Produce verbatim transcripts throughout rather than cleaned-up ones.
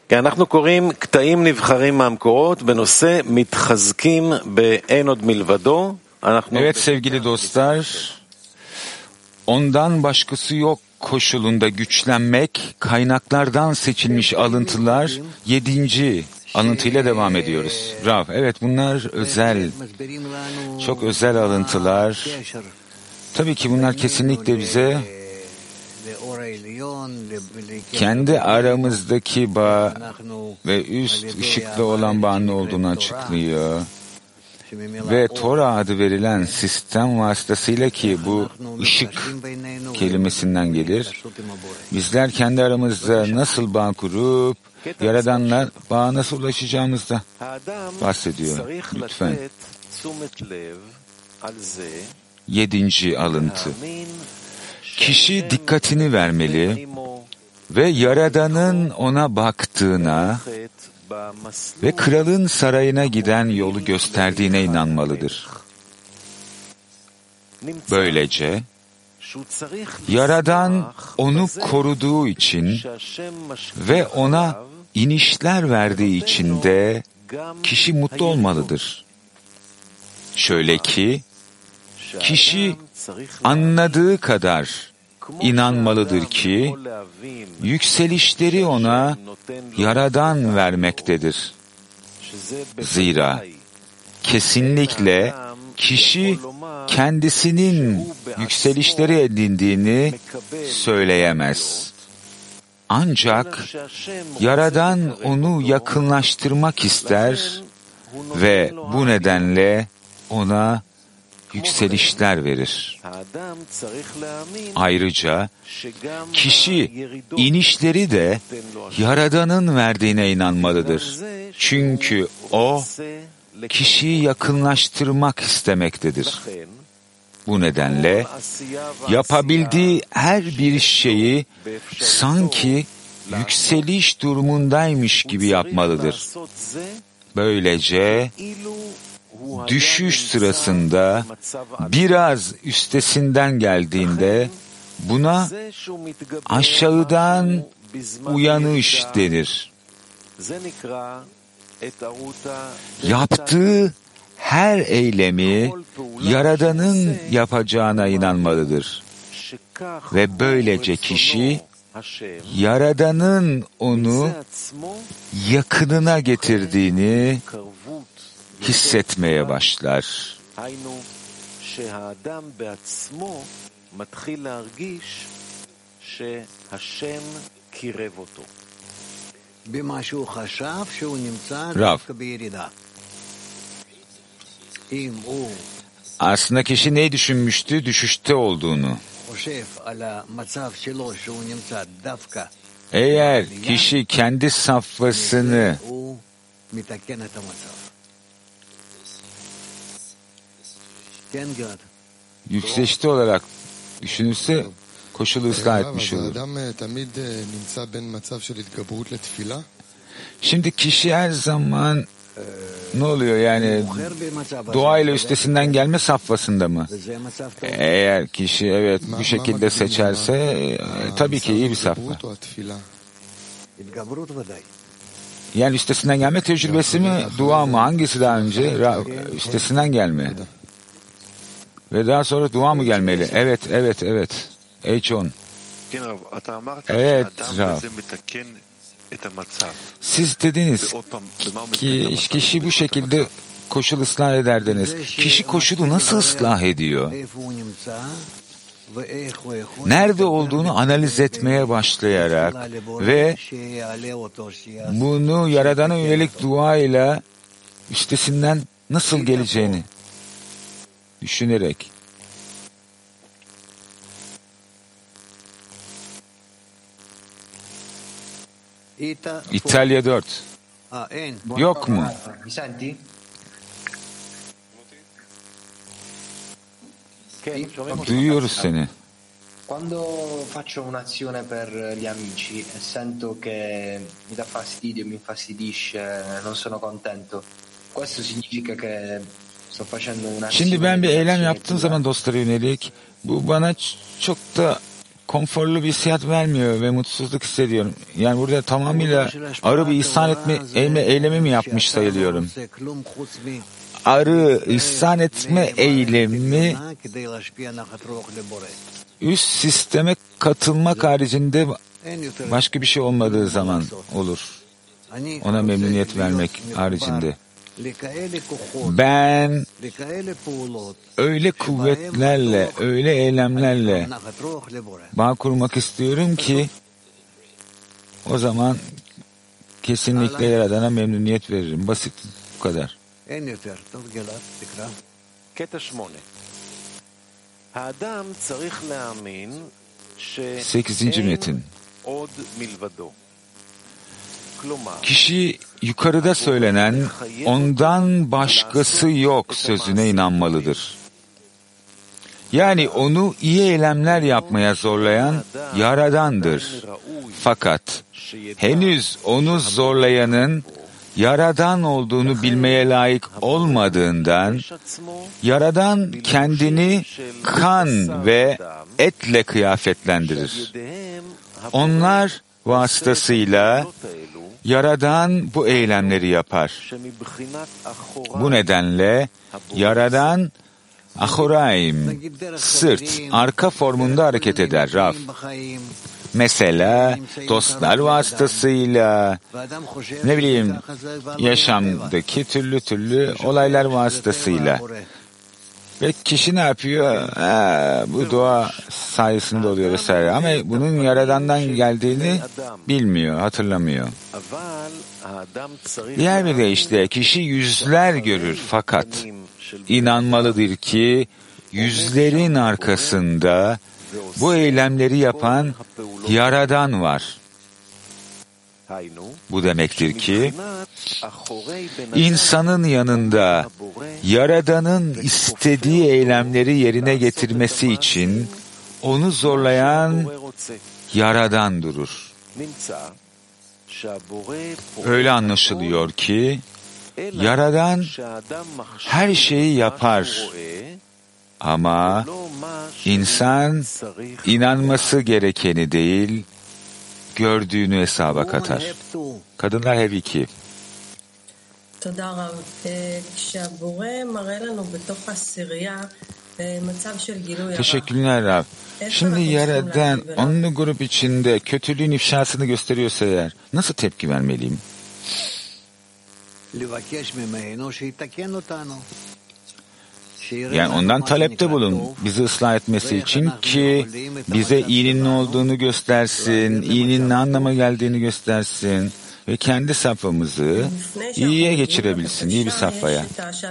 כי אנחנו קוראים קטעים נבחרים מהמקורות בנושא מתחזקים באין עוד מלבדו. Evet sevgili dostlar, ondan başkası yok koşulunda güçlenmek, kaynaklardan seçilmiş alıntılar, yedinci alıntıyla devam ediyoruz. Rav, evet bunlar özel, çok özel alıntılar. Tabii ki bunlar kesinlikle bize kendi aramızdaki bağ ve üst ışıkla olan bağın ne olduğunu açıklıyor. Ve Tora adı verilen sistem vasıtasıyla, ki bu ışık kelimesinden gelir, bizler kendi aramızda nasıl bağ kurup Yaradan'la bağa nasıl ulaşacağımızda bahsediyor. Lütfen. Yedinci alıntı. Kişi dikkatini vermeli ve Yaradan'ın ona baktığına ve kralın sarayına giden yolu gösterdiğine inanmalıdır. Böylece Yaradan onu koruduğu için ve ona inişler verdiği için de kişi mutlu olmalıdır. Şöyle ki, kişi anladığı kadar inanmalıdır ki, yükselişleri ona Yaradan vermektedir. Zira kesinlikle kişi kendisinin yükselişleri edindiğini söyleyemez. Ancak Yaradan onu yakınlaştırmak ister ve bu nedenle ona yükselişler verir. Ayrıca kişi inişleri de Yaradan'ın verdiğine inanmalıdır. Çünkü o kişiyi yakınlaştırmak istemektedir. Bu nedenle yapabildiği her bir şeyi sanki yükseliş durumundaymış gibi yapmalıdır. Böylece düşüş sırasında biraz üstesinden geldiğinde buna aşağıdan uyanış denir. Yaptığı her eylemi Yaradan'ın yapacağına inanmalıdır. Ve böylece kişi Yaradan'ın onu yakınına getirdiğini hissetmeye başlar. Rav, aslında kişi neyi düşünmüştü? Düşüşte olduğunu. Eğer kişi kendi safhasını yükselişte olarak düşünürse koşulu ıslah etmiş olur. Şimdi kişi her zaman ne oluyor yani doğayla üstesinden gelme safhasında mı? Eğer kişi evet bu şekilde seçerse e, tabii ki iyi bir safha. Yani üstesinden gelme tecrübesi mi, dua mı? Hangisi daha önce? Üstesinden gelme. Ve daha sonra dua mı gelmeli? Evet, evet, evet. H-on. Evet, Rav. Siz dediniz ki kişi bu şekilde koşul ıslah ederdiniz. Kişi koşulu nasıl ıslah ediyor? Nerede olduğunu analiz etmeye başlayarak ve bunu Yaradan'a yönelik dua ile üstesinden nasıl geleceğini düşünerek. İtalya dört. Yok mu? Duyuyoruz seni. Quando faccio un'azione per gli amici e sento che mi dà fastidio, mi infastidisce, non sono contento, questo significa che sto facendo un'azione. Şimdi ben bir eylem yaptığım zaman dostlara yönelik bu bana çok da konforlu bir hissiyat vermiyor ve mutsuzluk hissediyorum. Yani burada tamamıyla arı bir ihsan etme eylemi, eylemi mi yapmış sayılıyorum? Arı ihsan etme eylemi üst sisteme katılmak haricinde başka bir şey olmadığı zaman olur. Ona memnuniyet vermek haricinde. Ben öyle kuvvetlerle, öyle eylemlerle bağ kurmak istiyorum ki o zaman kesinlikle Yaradan'a memnuniyet veririm. Basit. Bu kadar. Sekizinci metin. Kişi yukarıda söylenen ondan başkası yok sözüne inanmalıdır. Yani onu iyi eylemler yapmaya zorlayan Yaradan'dır. Fakat henüz onu zorlayanın Yaradan olduğunu bilmeye layık olmadığından Yaradan kendini kan ve etle kıyafetlendirir. Onlar vasıtasıyla Yaradan bu eylemleri yapar. Bu nedenle Yaradan Ahoraim, sırt, arka formunda hareket eder Raf. Mesela dostlar vasıtasıyla, ne bileyim yaşamdaki türlü türlü olaylar vasıtasıyla. Ve kişi ne yapıyor? Ha, bu dua sayesinde oluyor vesaire. Ama bunun Yaradan'dan geldiğini bilmiyor, hatırlamıyor. Diğer bir deyişle kişi yüzler görür fakat inanmalıdır ki yüzlerin arkasında bu eylemleri yapan Yaradan var. Bu demektir ki insanın yanında Yaradan'ın istediği eylemleri yerine getirmesi için onu zorlayan Yaradan durur. Öyle anlaşılıyor ki Yaradan her şeyi yapar ama insan inanması gerekeni değil, gördüğünü hesaba katar. Kadınlar hep iki. Teşekkürler Rab. Şimdi Yaradan onlu grup içinde kötülüğün ifşasını gösteriyorsa eğer nasıl tepki vermeliyim? Yani ondan talepte bulun, bizi ıslah etmesi için ki bize iyinin ne olduğunu göstersin, iyinin ne anlama geldiğini göstersin ve kendi safhamızı iyiye geçirebilsin, iyi bir safhaya.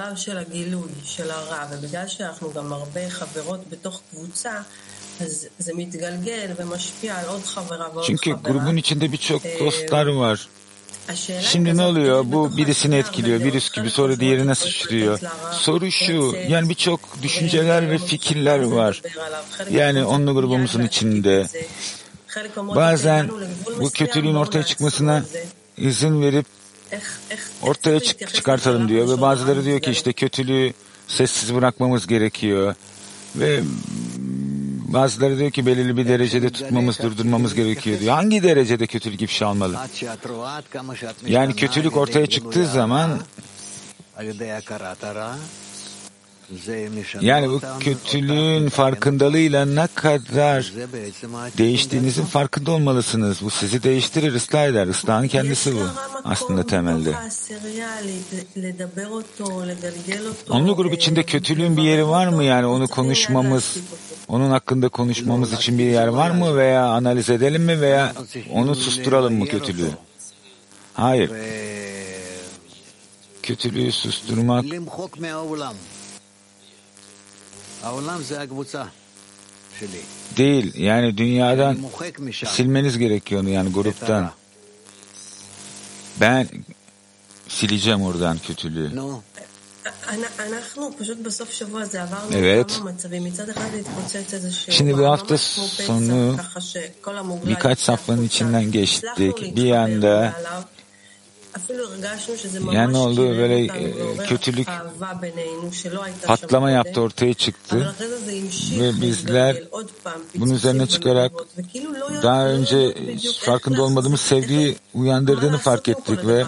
Çünkü grubun içinde birçok dostlar var. Şimdi ne oluyor? Bu birisini etkiliyor, virüs gibi, sonra diğerine sıçrıyor. Soru şu, yani birçok düşünceler ve fikirler var. Yani onunla grubumuzun içinde. Bazen bu kötülüğün ortaya çıkmasına izin verip ortaya çık- çıkartalım diyor ve bazıları diyor ki işte kötülüğü sessiz bırakmamız gerekiyor ve bazıları diyor ki belirli bir derecede tutmamız, durdurmamız gerekiyor diyor. Hangi derecede kötülük ifşa olmalı? Yani kötülük ortaya çıktığı zaman yani bu kötülüğün farkındalığıyla ne kadar değiştiğinizin farkında olmalısınız. Bu sizi değiştirir, ıslah eder. Islahın kendisi bu aslında temelde. Onlu grup içinde kötülüğün bir yeri var mı? Yani onu konuşmamız, onun hakkında konuşmamız için bir yer var mı? Veya analiz edelim mi? Veya onu susturalım mı kötülüğü? Hayır. Kötülüğü susturmak değil. Yani dünyadan silmeniz gerekiyor onu, yani gruptan. Ben sileceğim oradan kötülüğü. Evet. Şimdi bu hafta sonu birkaç safhanın içinden geçtik. Bir yanda Yani ne oldu? Böyle e, kötülük patlama yaptı, ortaya çıktı. Ve bizler bunun üzerine çıkarak daha önce farkında olmadığımız sevgiyi uyandırdığını fark ettik ve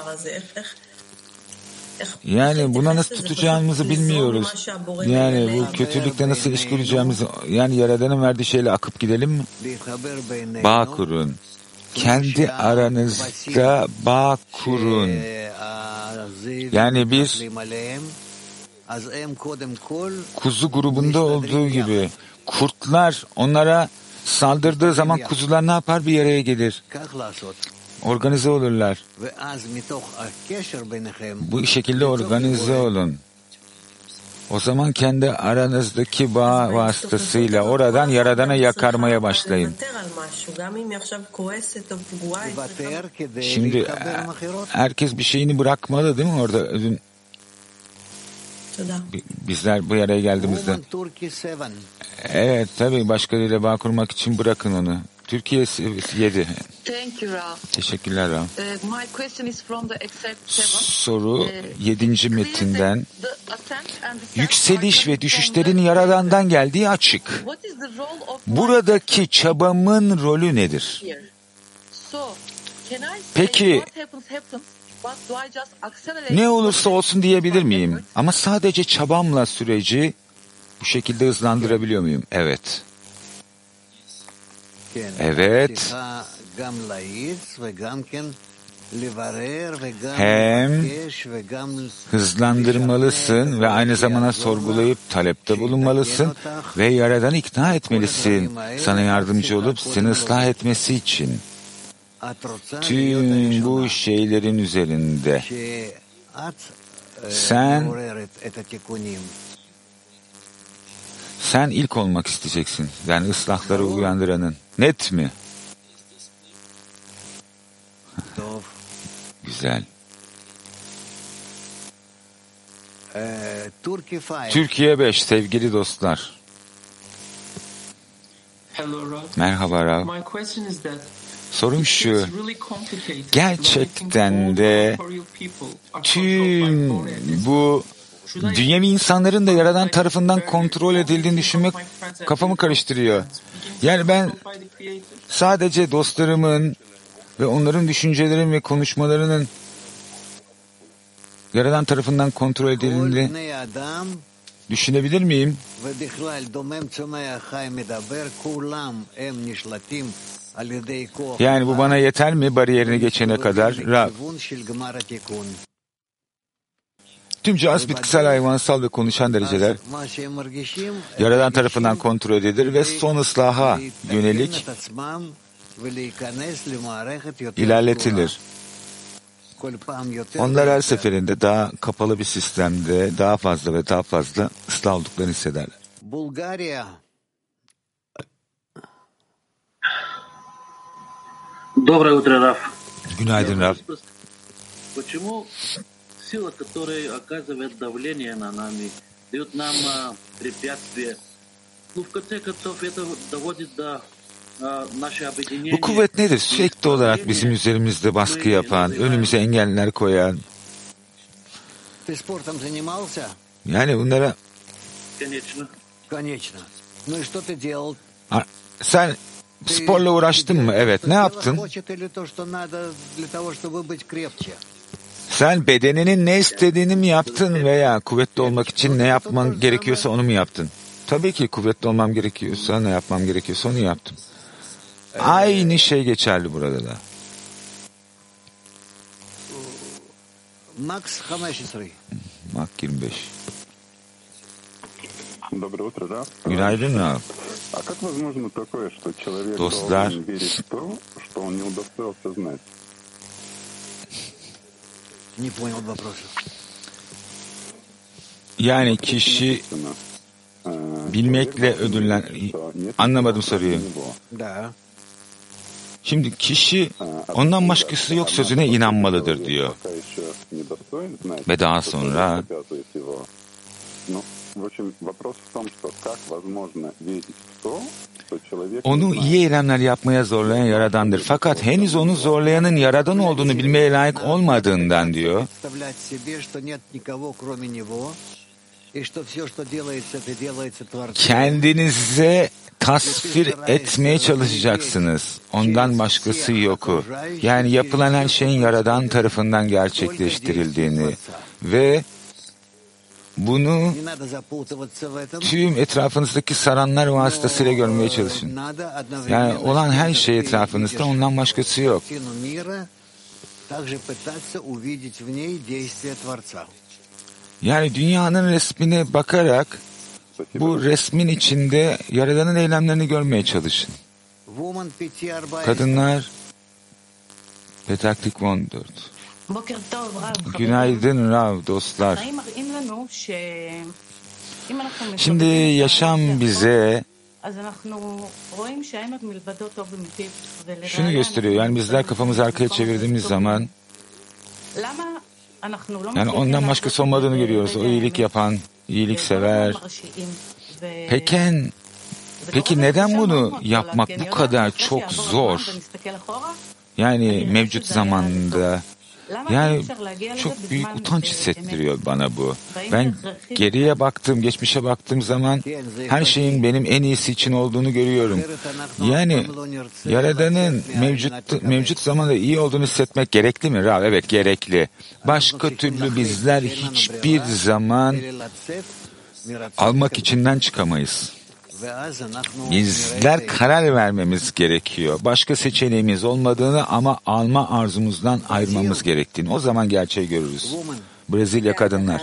yani buna nasıl tutacağımızı bilmiyoruz. Yani bu kötülükle nasıl iş kuracağımızı, yani Yaradan'ın verdiği şeyle akıp gidelim mi? Bağ kurun. Kendi aranızda bağ kurun. Yani bir kuzu grubunda olduğu gibi kurtlar onlara saldırdığı zaman kuzular ne yapar? Bir araya gelir. Organize olurlar. Bu şekilde organize olun. O zaman kendi aranızdaki bağ vasıtasıyla oradan Yaradan'a yakarmaya başlayın. Şimdi herkes bir şeyini bırakmalı değil mi orada? Bizler bu yere geldiğimizde. Evet tabii, başkalarıyla bağ kurmak için bırakın onu. Türkiye yedi. Teşekkürler Ram. Soru yedinci metinden. Yükseliş ve düşüşlerin Yaradan'dan geldiği açık. Buradaki çabamın rolü nedir? Peki ne olursa olsun diyebilir miyim? Ama sadece çabamla süreci bu şekilde hızlandırabiliyor muyum? Evet. Evet. Hem hızlandırmalısın ve aynı zamanda sorgulayıp talepte bulunmalısın ve Yaradan'ı ikna etmelisin. Sana yardımcı olup seni ıslah etmesi için. Tüm bu şeylerin üzerinde sen sen ilk olmak isteyeceksin. Yani ıslahları uyandıranın. Net mi? Güzel. Türkiye beş sevgili dostlar. Merhaba Rav. Sorum şu, gerçekten de tüm bu dünyevi insanların da Yaradan tarafından kontrol edildiğini düşünmek kafamı karıştırıyor. Yani ben sadece dostlarımın ve onların düşüncelerinin ve konuşmalarının Yaradan tarafından kontrol edildiğini düşünebilir miyim? Yani bu bana yeter mi bariyerini geçene kadar? Rab. Tüm cihaz bitkisel, hayvansal ve konuşan dereceler Yaradan tarafından kontrol edilir ve son ıslaha yönelik ilerletilir. Onlar her seferinde daha kapalı bir sistemde daha fazla ve daha fazla ıslah olduklarını hissederler. Bulgarya. Доброе утро, Раф. Günaydın Rab. Почему сила, которая оказывает давление на нами, дает нам препятствия? Ну, в конце концов, это доводит до нашего объединения. Bu kuvvet nedir? Sürekli olarak bizim üzerimizde baskı yapan, önümüze engeller koyan. Yani bunlara Конечно. Конечно. Ну и что ты делал? Sen sporla uğraştın mı? Evet. Ne yaptın? Sen bedeninin ne istediğini mi yaptın veya kuvvetli olmak için ne yapman gerekiyorsa onu mu yaptın? Tabii ki kuvvetli olmam gerekiyorsa, ne yapmam gerekiyorsa onu yaptım. Aynı şey geçerli burada da. Max yirmi beş. Доброе утро, да? Günaydın Rab. А как возможно такое, что человек Dostlar, должен верить в то, что он не удостоился знать? Не понял вопроса. Yani kişi bilmekle ödüllen... Anlamadım soruyu. Да. Şimdi kişi ondan başkası yok sözüne inanmalıdır diyor. Ve daha sonra В общем, вопрос в том, что как возможно верить в то, что человек... Onu iyi eylemler yapmaya zorlayan Yaradan'dır. Fakat henüz onu zorlayanın Yaradan olduğunu bilmeye layık olmadığından diyor. Kendinize tasvir etmeye çalışacaksınız. Ondan başkası yoku. Yani yapılan her şeyin Yaradan tarafından gerçekleştirildiğini ve bunu tüm etrafınızdaki saranlar vasıtasıyla görmeye çalışın. Yani olan her şey etrafınızda, ondan başkası yok. Yani dünyanın resmine bakarak bu resmin içinde Yaradan'ın eylemlerini görmeye çalışın. Kadınlar Petaktik on dört. Günaydın Rav dostlar. Şimdi yaşam bize şunu gösteriyor. Yani bizler kafamızı arkaya çevirdiğimiz zaman yani ondan başkası olmadığını görüyoruz. O iyilik yapan, iyilik sever. Peki, peki neden bunu yapmak bu kadar çok zor? Yani mevcut zamanda yani çok büyük utanç hissettiriyor bana bu. Ben geriye baktığım, geçmişe baktığım zaman her şeyin benim en iyisi için olduğunu görüyorum. Yani Yaradan'ın mevcut mevcut zamanda iyi olduğunu hissetmek gerekli mi? Rav, evet gerekli. Başka türlü bizler hiçbir zaman almak içinden çıkamayız. Bizler karar vermemiz gerekiyor. Başka seçeneğimiz olmadığını ama alma arzumuzdan ayırmamız gerektiğini. O zaman gerçeği görürüz. Brezilya kadınlar.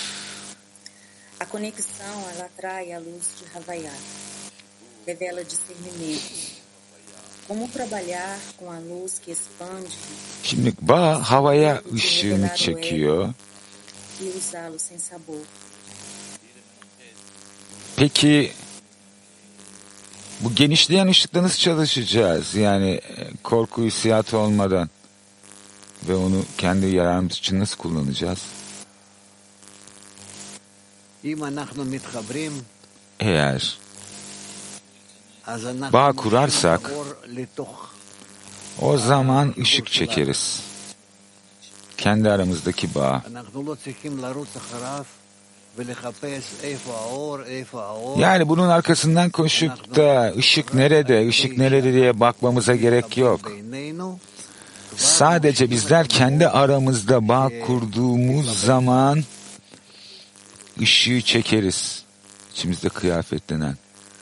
A conexão ela atrai a luz de Havaiá, revela discernimento. Como trabalhar com a luz que expande? Şimdi bağ havaya ışığını çekiyor. E usá-lo sem sabor. Peki bu genişleyen ışıkla nasıl çalışacağız? Yani korku hissiyatı olmadan ve onu kendi yararımız için nasıl kullanacağız? Eğer bağ kurarsak o zaman ışık çekeriz. Kendi aramızdaki bağ. Yani bunun arkasından koşup da ışık nerede, ışık nerede diye bakmamıza gerek yok. Sadece bizler kendi aramızda bağ kurduğumuz zaman ışığı çekeriz. İçimizde kıyafetlenen.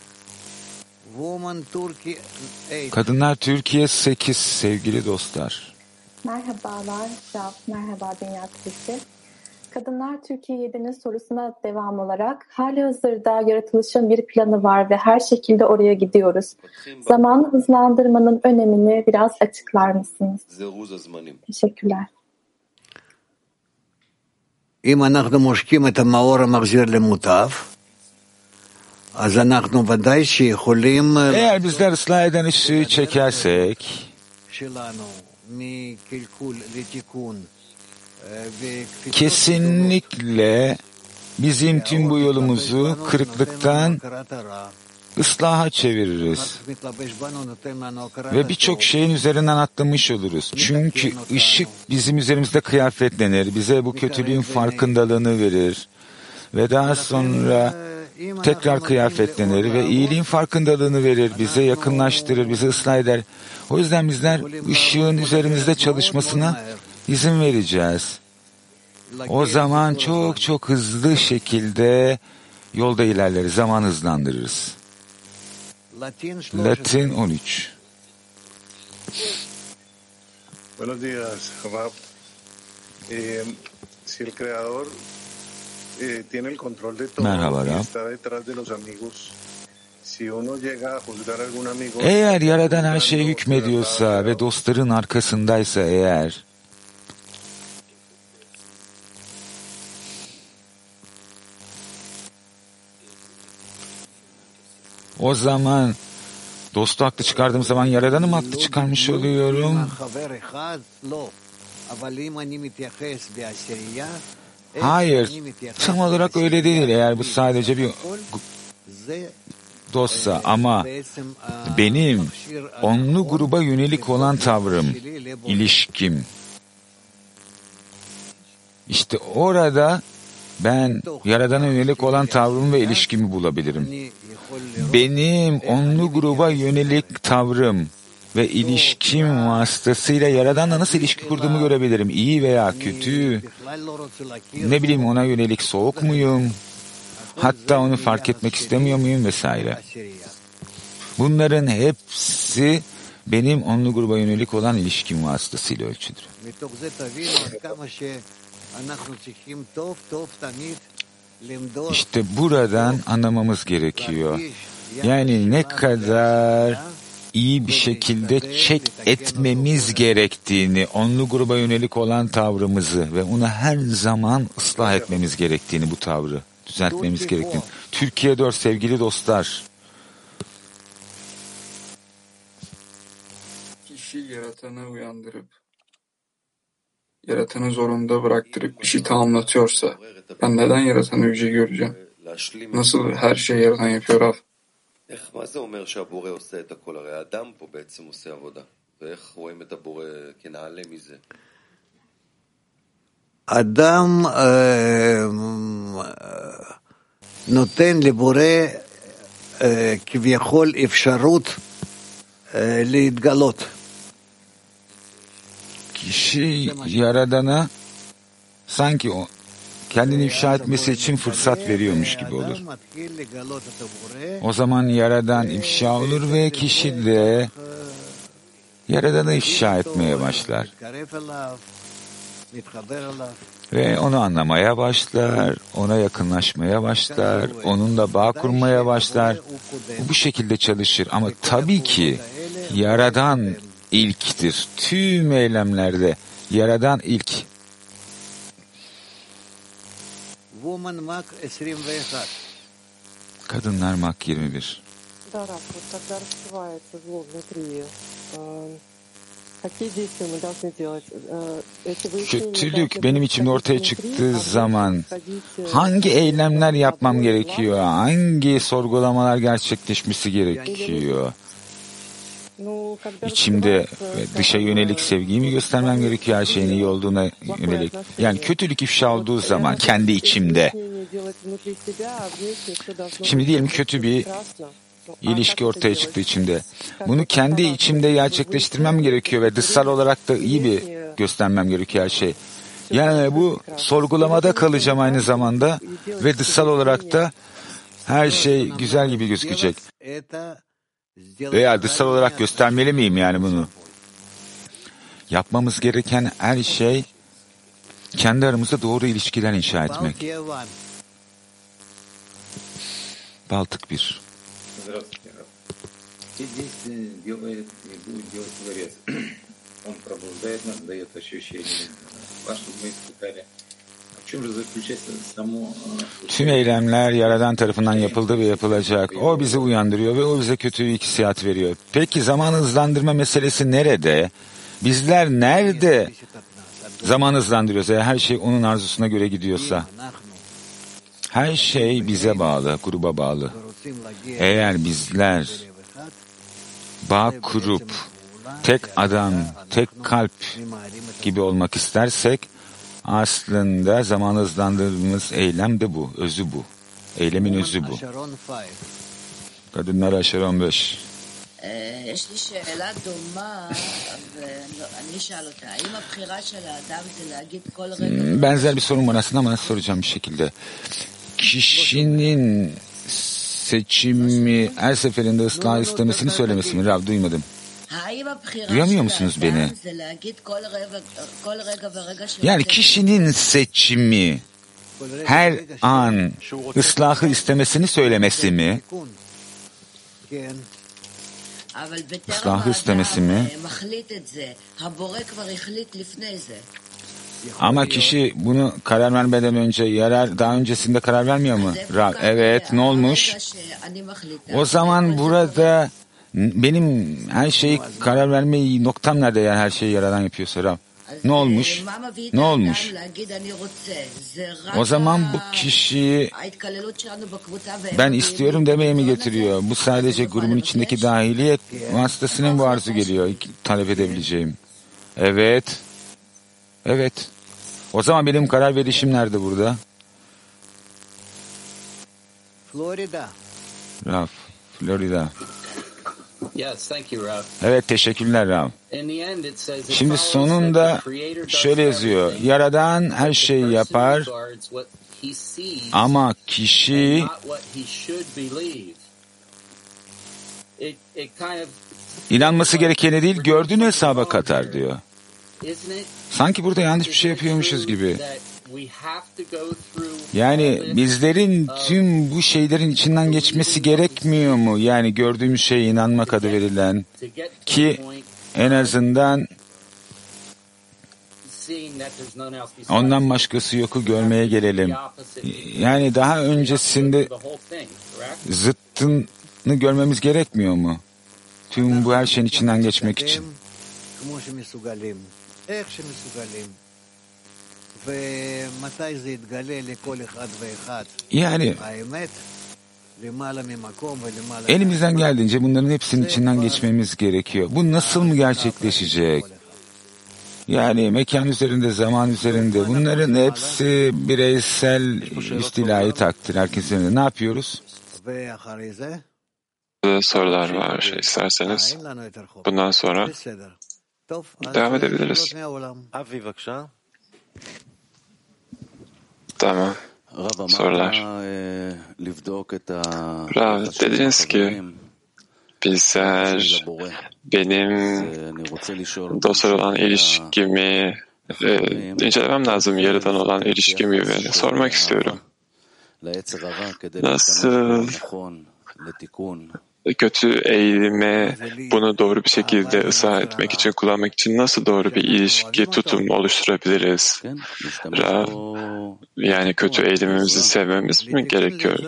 Kadınlar Türkiye sekiz sevgili dostlar. Merhabalar Rav, merhaba Dünya Kulisi. Kadınlar Türkiye yedi'nin sorusuna devam olarak hali hazırda yaratılışın bir planı var ve her şekilde oraya gidiyoruz. Zamanı hızlandırmanın önemini biraz açıklar mısınız? Teşekkürler. אם אנחנו מושכים את המאור המחזיר למוטב, אז אנחנו ודאי שיכולים... Eğer bizler ıslah eden ışığı çekersek, kesinlikle bizim tüm bu yolumuzu kırıklıktan ıslaha çeviririz. Ve birçok şeyin üzerinden atlamış oluruz. Çünkü ışık bizim üzerimizde kıyafetlenir. Bize bu kötülüğün farkındalığını verir. Ve daha sonra tekrar kıyafetlenir ve iyiliğin farkındalığını verir. Bize yakınlaştırır, bizi ıslah eder. O yüzden bizler ışığın üzerimizde çalışmasına izin vereceğiz. O zaman çok çok hızlı şekilde yolda ilerleriz, zaman hızlandırırız. Latin on üç. Buenos días, Rav. Eh, si el creador eh, tiene el control de todo y está detrás de los amigos, si uno llega a juzgar algún amigo, eğer Yaradan her şeye hükmediyorsa ve dostların arkasındaysa eğer, o zaman dostu haklı çıkardığım zaman Yaradan'ı mı haklı çıkarmış oluyorum? Hayır, tam olarak öyle değil eğer bu sadece bir dostsa, ama benim onlu gruba yönelik olan tavrım, ilişkim, işte orada ben Yaradan'a yönelik olan tavrımı ve ilişkimi bulabilirim. Benim onlu gruba yönelik tavrım ve ilişkim vasıtasıyla Yaradan'la nasıl ilişki kurduğumu görebilirim. İyi veya kötü, ne bileyim ona yönelik soğuk muyum, hatta onu fark etmek istemiyor muyum vesaire. Bunların hepsi benim onlu gruba yönelik olan ilişkim vasıtasıyla ölçülür. İşte buradan anlamamız gerekiyor. Yani ne kadar iyi bir şekilde çek etmemiz gerektiğini, onlu gruba yönelik olan tavrımızı ve onu her zaman ıslah etmemiz gerektiğini, bu tavrı düzeltmemiz gerektiğini. Türkiye dört sevgili dostlar. Kişi yaratanı uyandırıp, yaratanı zorunda bıraktırıp işi tamamlatıyorsa, ben neden yaratanı yüce göreceğim? Nasıl her şeyi yaratan yapıyor Rav? מה זה אומר שהבורא עושה את הכל? הרי האדם פה בעצם עושה עבודה. ואיך רואים את הבורא כנעלה מזה? אדם נותן לבורא כביכול אפשרות להתגלות. Kişi Yaradan'a sanki o kendini ifşa etmesi için fırsat veriyormuş gibi olur. O zaman Yaradan ifşa olur ve kişi de Yaradan'ı ifşa etmeye başlar. Ve onu anlamaya başlar, ona yakınlaşmaya başlar, onunla bağ kurmaya başlar. Bu şekilde çalışır ama tabii ki Yaradan ilktir. Tüm eylemlerde Yaradan ilk. Kadınlar Mak yirmi bir. Kötülük benim içimde ortaya çıktığı zaman hangi eylemler yapmam gerekiyor? Hangi sorgulamalar gerçekleşmesi gerekiyor? İçimde dışa yönelik sevgiyi mi göstermem gerekiyor, her şeyin iyi olduğuna yönelik? Yani kötülük ifşa olduğu zaman kendi içimde. Şimdi diyelim kötü bir ilişki ortaya çıktı içimde. Bunu kendi içimde gerçekleştirmem gerekiyor ve dışsal olarak da iyi bir göstermem gerekiyor her şey. Yani bu sorgulamada kalacağım aynı zamanda ve dışsal olarak da her şey güzel gibi gözükecek. Veya dışsal olarak göstermeli miyim yani bunu? Yapmamız gereken her şey kendi aramızda doğru ilişkiler inşa etmek. Baltık bir. Tüm eylemler Yaradan tarafından yapıldı ve yapılacak. O bizi uyandırıyor ve o bize kötü hissiyat veriyor. Peki zaman hızlandırma meselesi nerede? Bizler nerede zaman hızlandırıyoruz? Eğer her şey onun arzusuna göre gidiyorsa. Her şey bize bağlı, gruba bağlı. Eğer bizler bağ kurup tek adam, tek kalp gibi olmak istersek, aslında zaman hızlandırdığımız eylem de bu, özü bu. Eylemin özü bu. Kadınlar Aşer on beş. Benzer bir sorun var aslında ama soracağım bir şekilde. Kişinin seçimi her seferinde ıslah istemesini söylemesi mi? Rav, duymadım. Duyamıyor musunuz beni? Yani kişinin seçimi her an ıslahı istemesini söylemesi mi? Islahı istemesi mi? Ama kişi bunu karar vermeden önce, yarar daha öncesinde karar vermiyor mu? Rav, evet, ne olmuş? O zaman burada benim her şeyi karar vermeyi noktam nerede, yani her şeyi Yaradan yapıyorsa Rav? Ne olmuş? Ne olmuş? O zaman bu kişiyi ben istiyorum demeye mi getiriyor? Bu sadece grubun içindeki dahiliyet vasıtasıyla mı bu arzu geliyor? Talep edebileceğim. Evet. Evet. O zaman benim karar verişim nerede burada? Florida. Raf, Florida. Yes, thank you, Rav. Evet, teşekkürler Rav. Şimdi sonunda şöyle yazıyor. Yaradan her şeyi yapar ama kişi inanması gerekeni değil, gördüğünü hesaba katar diyor. Sanki burada yanlış bir şey yapıyormuşuz gibi. Yani bizlerin tüm bu şeylerin içinden geçmesi gerekmiyor mu? Yani gördüğümüz şeye inanmak adı verilen ki en azından ondan başkası yoku görmeye gelelim. Yani daha öncesinde zıttını görmemiz gerekmiyor mu? Tüm bu her şeyin içinden geçmek için. Yani elimizden geldiğince bunların hepsinin içinden geçmemiz gerekiyor. Bu nasıl mı gerçekleşecek? Yani mekan üzerinde, zaman üzerinde bunların hepsi bireysel üstilahi takdir. Herkesin ne yapıyoruz? Sorular var şey isterseniz. Bundan sonra devam edebiliriz. Tamam. Sorular. Rav, dediniz ki bizler benim dostlar olan ilişkimi e, incelemem lazım, yaradan olan ilişkimi ve sormak istiyorum. Nasıl kötü eğilime bunu doğru bir şekilde ıslah etmek için, kullanmak için nasıl doğru bir ilişki, tutum oluşturabiliriz? Rav, yani kötü eğilimimizi sevmemiz mi gerekiyor?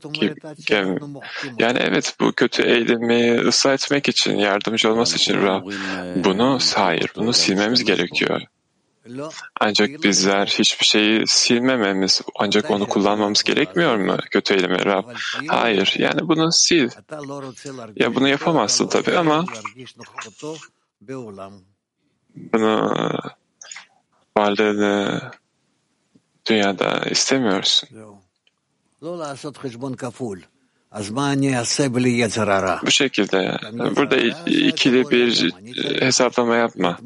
Yani evet, bu kötü eğilimi ıslah etmek için, yardımcı olması için Rav, bunu hayır, bunu silmemiz gerekiyor. Ancak bizler hiçbir şeyi silmememiz, ancak onu kullanmamız gerekmiyor mu kötü eğilimi Rab? Hayır, yani bunu sil. Ya bunu yapamazsın tabii ama bunu varlığını dünyada istemiyorsun. Bu şekilde burada ikili bir hesaplama yapma.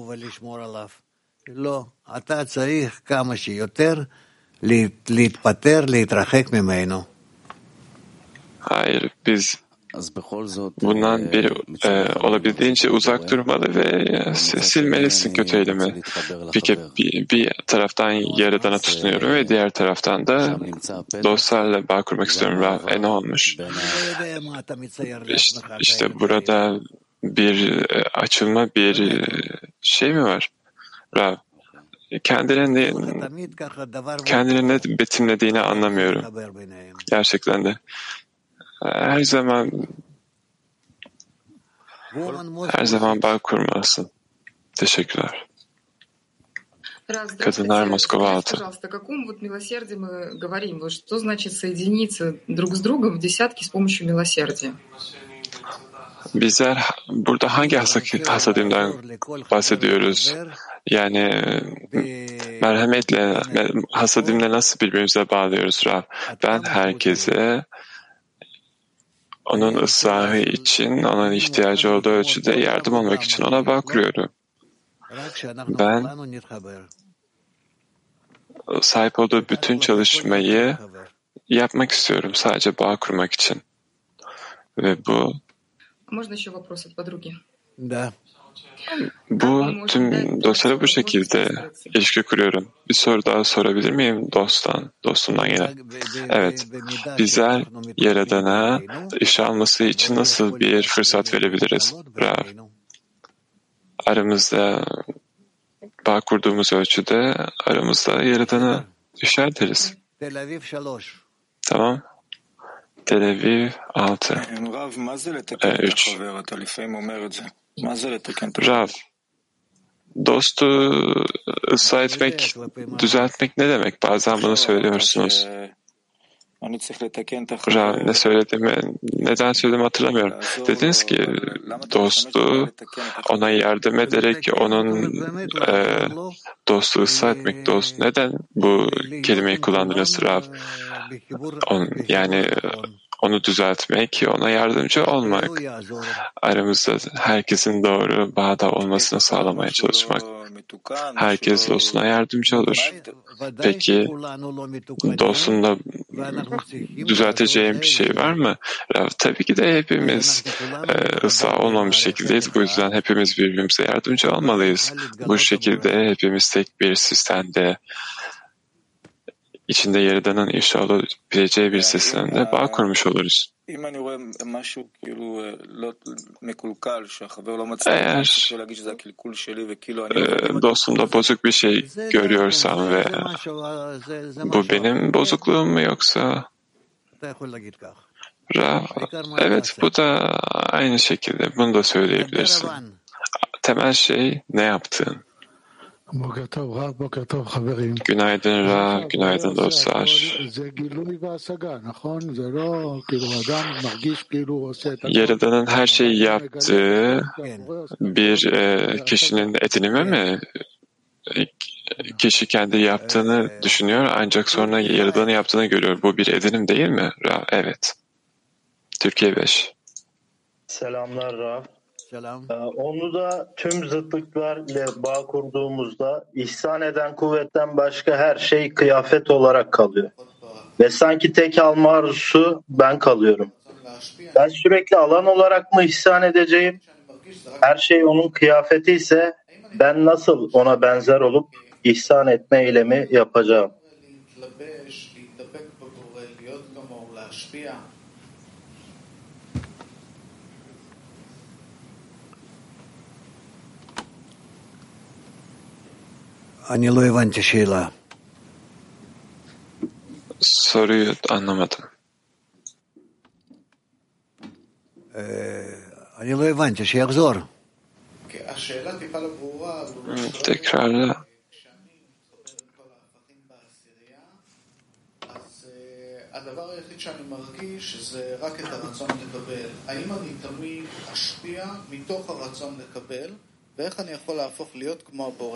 לא, אתה צריך כמה שיותר להתפטר, להתרחק ממנו. Hayır, biz bundan bir e, olabildiğince uzak durmalı ve e, silmelisin kötü eylemi. Peki bir, bir taraftan Yaradan'a tutunuyorum ve diğer taraftan da dostlarla bağ kurmak istiyorum. E ne olmuş? İşte, işte burada bir e, açılma, bir e, şey mi var? Rav, kendilerini, kendilerini ne betimlediğini anlamıyorum. Gerçekten de. Her zaman her zaman bağ kurmalısın. Teşekkürler. Kadınlar Moskova altı. Пожалуйста, о каком вот милосердии мы говорим? Вот что значит соединиться друг с другом в десятки с помощью милосердия? Bizler burada hangi hasadimden bahsediyoruz? Yani merhametle, hasadimle nasıl birbirimize bağlıyoruz Rab? Ben herkese onun ıslahı için, onun ihtiyacı olduğu ölçüde yardım olmak için ona bağ kuruyorum. Ben sahip olduğu bütün çalışmayı yapmak istiyorum sadece bağ kurmak için. Ve bu Bu tüm dostlara bu şekilde ilişki kuruyorum. Bir soru daha sorabilir miyim dosttan, dostumdan gelen? Evet, bizler Yaradan'a iş alması için nasıl bir fırsat verebiliriz? Rav, aramızda bağ kurduğumuz ölçüde aramızda Yaradan'a işler ederiz. Tamam. Tel Aviv altı. üç. Rav, Dostu ıslah etmek, düzeltmek ne demek? Bazen bunu söylüyorsunuz. Rav, ne söylediğimi, neden söylediğimi hatırlamıyorum. Dediniz ki dostu ona yardım ederek onun e, dostu ıslah etmek. Dost, neden bu kelimeyi kullandınız Rav? On, yani onu düzeltmek, ona yardımcı olmak. Aramızda herkesin doğru bağda olmasını sağlamaya çalışmak. Herkes dostuna yardımcı olur. Peki dostumda düzelteceğim bir şey var mı? Tabii ki de hepimiz e, ıslah olmamış şekildeyiz. Bu yüzden hepimiz birbirimize yardımcı olmalıyız. Bu şekilde hepimiz tek bir sistemde, içinde Yaradan'ın inşa olabileceği bir sistemde bağ kurmuş oluruz. Eğer e, dostumda bozuk bir şey görüyorsam ve bu benim bozukluğum mu yoksa Ra, evet bu da aynı şekilde bunu da söyleyebilirsin. Temel şey ne yaptığın. Günaydın Ra, günaydın dostlar. Yaradan'ın her şeyi yaptığı bir e, kişinin edinimi mi? Kişi kendi yaptığını düşünüyor ancak sonra Yaradan'ın yaptığını görüyor. Bu bir edinim değil mi Ra? Evet. Türkiye beş. Selamlar Ra. Ee, onu da tüm zıtlıklar ile bağ kurduğumuzda ihsan eden kuvvetten başka her şey kıyafet olarak kalıyor. Ve sanki tek alma arzusu ben kalıyorum. Ben sürekli alan olarak mı ihsan edeceğim? Her şey onun kıyafeti ise ben nasıl ona benzer olup ihsan etme eylemi yapacağım? אני לא הבנתי שאלה. Soruyu anlamadım. אני לא הבנתי, שיחזור. Tekrarla. הדבר היחיד שאני מרגיש זה רק את הרצון לקבל. האם אני תמיד אשפיע מתוך הרצון לקבל, ואיך אני יכול להפוך להיות כמו הבורא?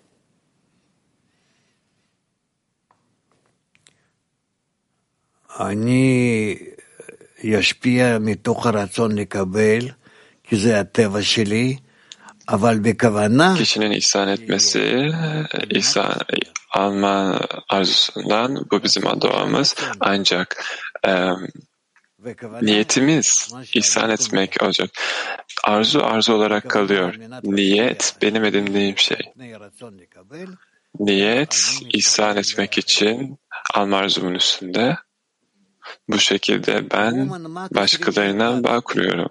אני אשפיע מתוך הרצון לקבל, כי זה הטבע שלי, אבל בכוונה... Kişinin ihsan etmesi, ihsan alma arzusundan, bu bizim doğamız. Ancak e, niyetimiz ihsan etmek olacak. Arzu arzu olarak kalıyor. Niyet benim edindiğim şey. Niyet ihsan etmek için alma arzumun üstünde. Bu şekilde ben başkalarına bağ kuruyorum.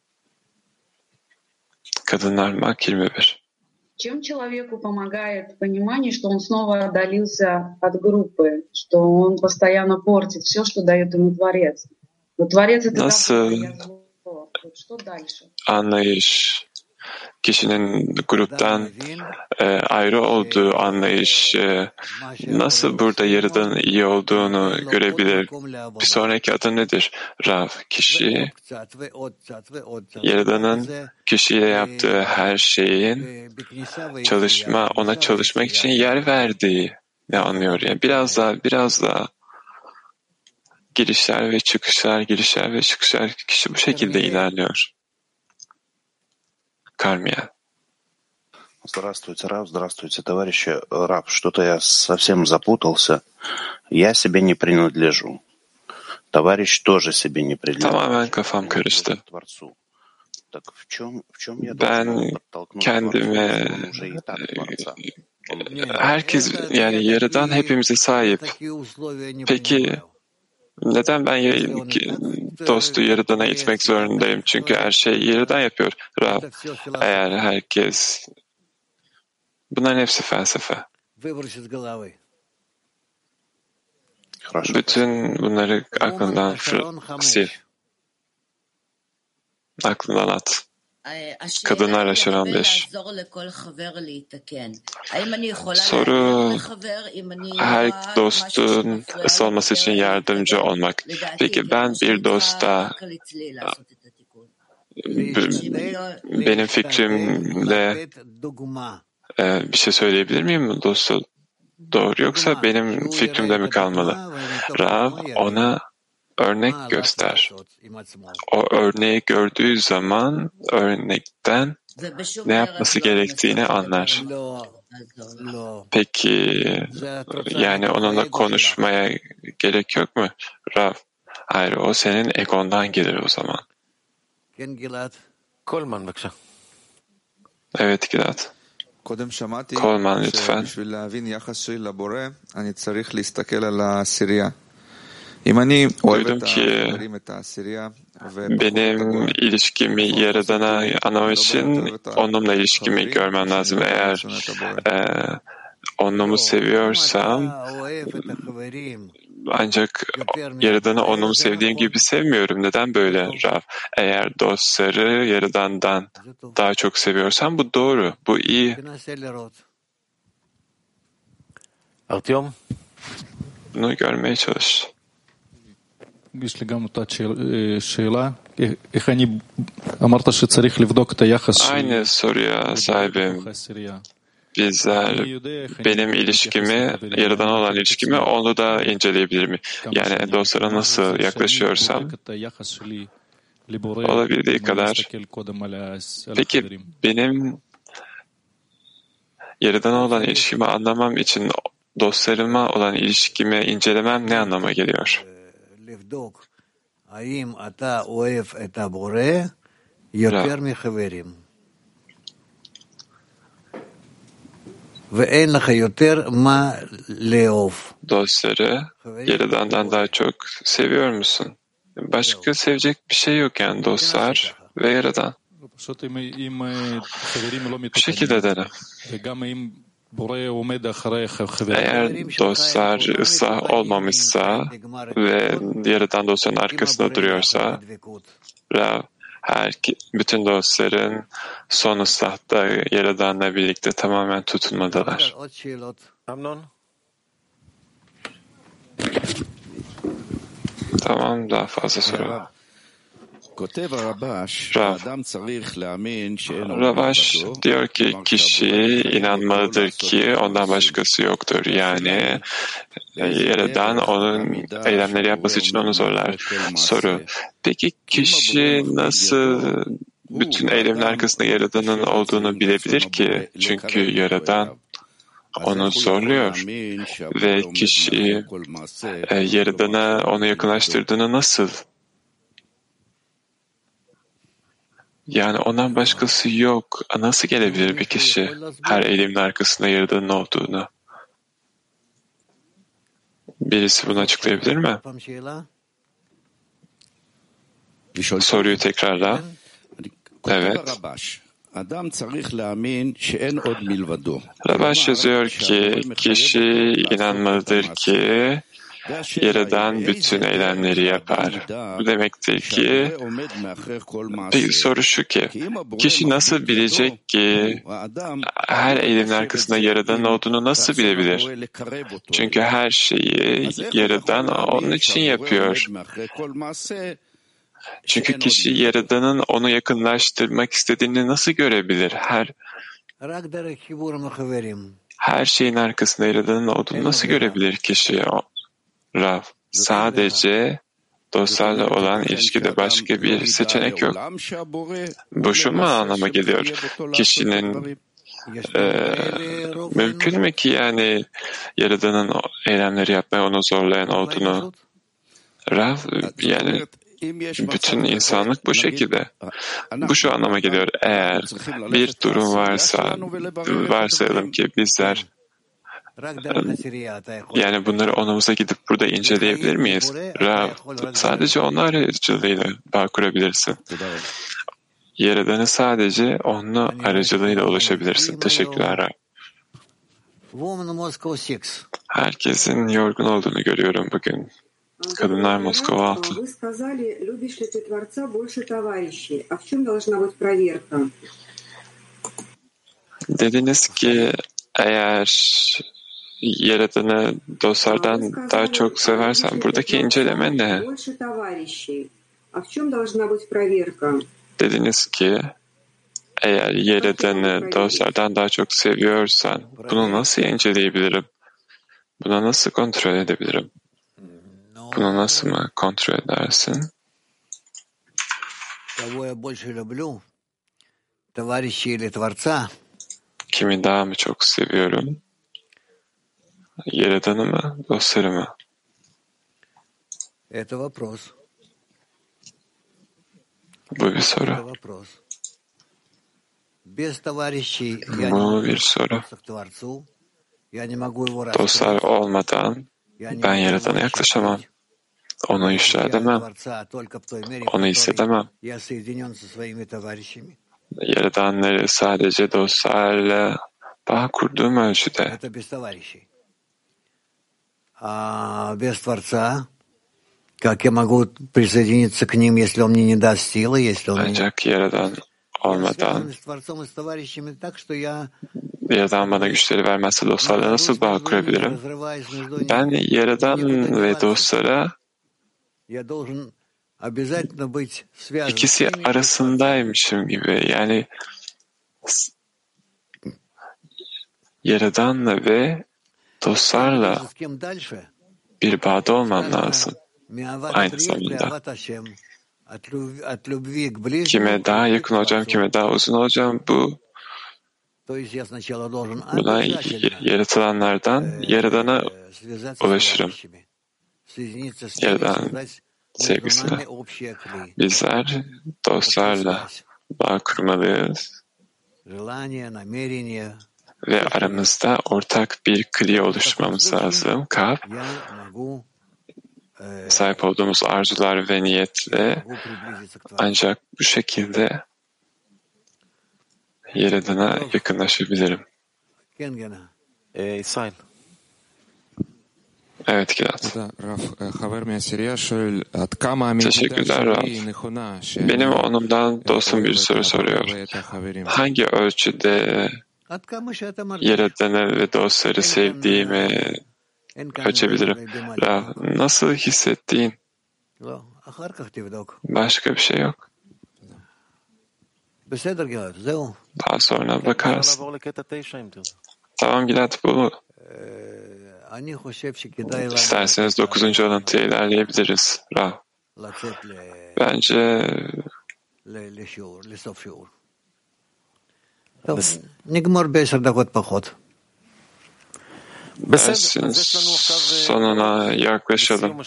Kadınlar Mak yirmi bir. Чем человеку помогает понимание, что он снова отдалился от группы, что он постоянно портит все, что дает ему Творец? Но Творец это Nasıl anlayış, kişinin gruptan e, ayrı olduğu anlayış e, nasıl burada Yaradan'ın iyi olduğunu görebilir? Bir sonraki adı nedir? Rav, kişi Yaradan'ın kişiyle yaptığı her şeyin çalışma, ona çalışmak için yer verdiği ne anlıyor? Yani biraz daha, biraz daha girişler ve çıkışlar, girişler ve çıkışlar, kişi bu şekilde ilerliyor. Кармия. Здравствуйте, Рав, здравствуйте, товарищи. Рав, что-то я совсем запутался. Я себе не принадлежу. Товарищ тоже себе не принадлежит. Tamamen kafam karıştı. Ben kendime, herkes yani Yaradan hepimize sahip. Peki neden ben dostu Yaradan'a itmek zorundayım? Çünkü her şeyi Yaradan yapıyor. Rab, eğer herkes... Bunların hepsi felsefe. Bütün bunları aklından sil. Aklından at. Kadınlar aşıran beş. Soru, her dostun ısınması için yardımcı olmak. Peki ben bir dosta benim fikrimle e, bir şey söyleyebilir miyim dostu? Doğru, yoksa benim fikrimde mi kalmalı? Rav ona örnek göster. O örneği gördüğü zaman örnekten ne yapması gerektiğini anlar. Peki yani onunla konuşmaya gerek yok mu? Rav, hayır, o senin egondan gelir o zaman. Kolman baksa. Evet Gilad. Kolman lütfen. Duydum ki benim ilişkimi Yaradan'a anlamam için onunla ilişkimi görmem lazım. Eğer e, onumu seviyorsam ancak Yaradan'ı onumu sevdiğim gibi sevmiyorum. Neden böyle Rav? Eğer dostları Yaradan'dan daha çok seviyorsam bu doğru. Bu iyi. Artyom? Bunu görmeye çalış. יש לי גם אותה שאלה, איך אני אמרת שצריך לבדוק את היחס Aynı soruya sahibim. Bizler benim ilişkimi, Yaradan'a olan ilişkimi onu da inceleyebilir mi? Yani dostlara nasıl yaklaşıyorsam olabildiği kadar. Peki benim Yaradan'a olan ilişkimi anlamam için dostlarıma olan ilişkimi incelemem ne anlama geliyor? Dostları Yaradan'dan daha çok seviyor musun? Başka sevecek bir şey yok yani, dostlar ve Yaradan. Bu şekilde dene. Eğer dostlar ıslah olmamışsa ve Yaradan dostların arkasında duruyorsa, her, bütün dostların son ıslahta Yaradan'la birlikte tamamen tutunmadalar. Amnon? Tamam, daha fazla soru. Rav, Ravaş diyor ki kişi inanmalıdır ki ondan başkası yoktur. Yani Yaradan onun eylemleri yapması için onu zorlar. Soru, peki kişi nasıl bütün eylemin arkasında Yaradan'ın olduğunu bilebilir ki? Çünkü Yaradan onu zorluyor ve kişi Yaradan'a onu yakınlaştırdığını nasıl? Yani ondan başkası yok. Nasıl gelebilir bir kişi her eylemin arkasında Yaradan'ın olduğunu? Birisi bunu açıklayabilir mi? Soruyu tekrarla. Evet. Ravaş yazıyor ki kişi inanmalıdır ki Yaradan bütün eylemleri yapar. Bu demektir ki, peki soru şu ki, kişi nasıl bilecek ki her eylemin arkasında Yaradan'ın olduğunu nasıl bilebilir? Çünkü her şeyi Yaradan onun için yapıyor. Çünkü kişi Yaradan'ın onu yakınlaştırmak istediğini nasıl görebilir? Her her şeyin arkasında Yaradan'ın olduğunu nasıl görebilir kişi? Rav, sadece dostlarla olan ilişkide başka bir seçenek yok. Bu şu mu anlama geliyor? Kişinin e, mümkün mü ki yani Yaradan'ın eylemleri yapmaya onu zorlayan olduğunu? Rav, yani bütün insanlık bu şekilde. Bu şu anlama geliyor. Eğer bir durum varsa, varsayalım ki bizler yani bunları onumuza gidip burada inceleyebilir miyiz? Rav, sadece onun aracılığıyla bağ kurabilirsin. Yaradan'ı sadece onun aracılığıyla ulaşabilirsin. Teşekkürler Rav. Herkesin yorgun olduğunu görüyorum bugün. Kadınlar Moskova altı. Вы сказали, любишь ли ты Творца больше товарищей. А в чем должна быть проверка? Dediniz ki eğer Yaradan'ı dostlardan daha çok seversen buradaki inceleme ne? Dediniz ki eğer Yaradan'ı dostlardan daha çok seviyorsan bunu nasıl inceleyebilirim? Buna nasıl kontrol edebilirim? Bunu nasıl mı kontrol edersin? Kimi daha mı çok seviyorum? Yaradan'ı mı, dostları mı? Bu bir soru. Bu bir soru. Dostlar olmadan ben Yaradan'a yaklaşamam. Onu ifşa edemem. Onu hissedemem. Yaradanları sadece dostlarla bağ kurduğum ölçüde. Ancak Yaradan olmadan, Yaradan bana güçleri vermezse dostlarla nasıl bağ kurabilirim? Ben Yaradan ve dostlara ikisi arasındaymışım gibi. Yani Yaradan'la ve dostlarla bir bağda olmam lazım. Aynı zamanda. Kime daha yakın olacağım, kime daha uzun olacağım, bu buna yaratılanlardan Yaradan'a ulaşırım. Yaradan sevgisine. Bizler dostlarla bağ kurmalıyız ve aramızda ortak bir kli oluşturmamız lazım. Kalp, sahip olduğumuz arzular ve niyetle ancak bu şekilde Yaradan'a yakınlaşabilirim. İsmail. Evet Gilad. Teşekkürler Rav. Benim onumdan dostum bir soru soruyor. Hangi ölçüde Yaradan'ı ve dostları sevdiğimi ölçebilirim? Rav, nasıl hissettiğin? Başka bir şey yok. Daha sonra bakarsın. Tamam Gilad, bu. İsterseniz dokuzuncu alıntıya ilerleyebiliriz. Rav. Bence dersin sonuna yaklaşalım.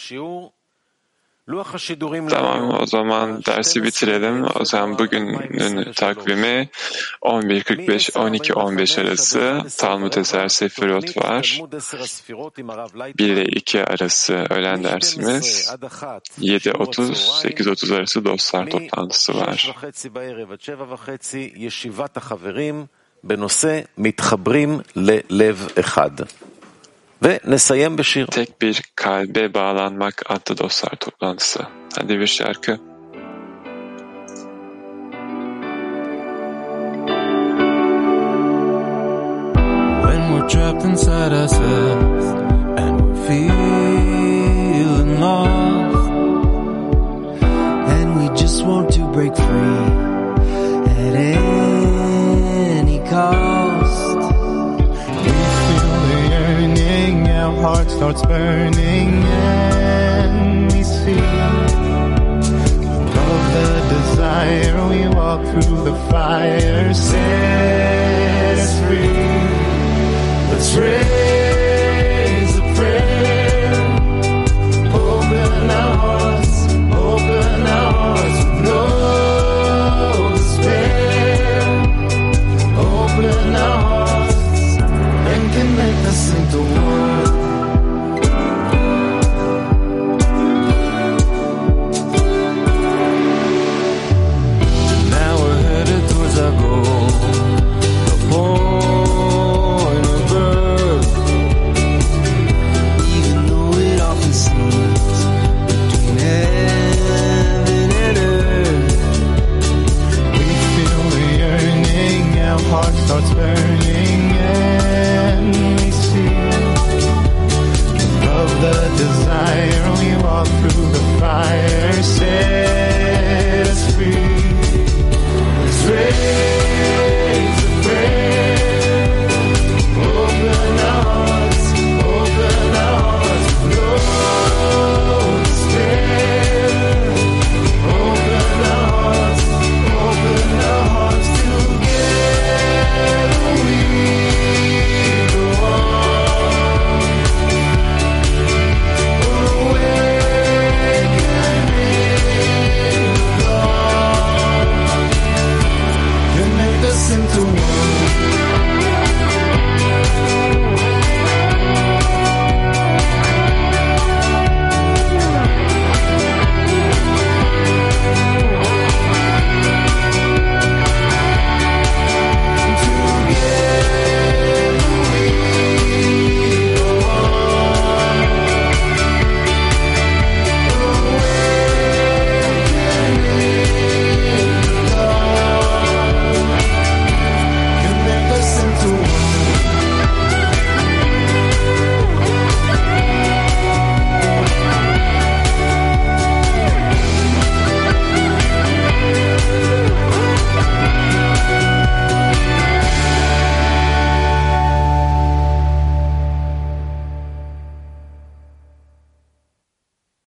Tamam, o zaman dersi bitirelim. O zaman bugünün takvimi on bir kırk beş on iki on beş arası Talmud Eser Sefirot var. bir ile iki arası öğlen dersimiz. yedi otuz sekiz otuz arası dostlar toplantısı var. Ve nesayem beşir. Tek bir kalbe bağlanmak adlı dostlar toplantısı. Hadi bir şarkı. When we're trapped inside ourselves and we're feeling lost and we just want to break free at any cost. Our heart starts burning and we see above the desire we walk through the fire, set us free. Let's raise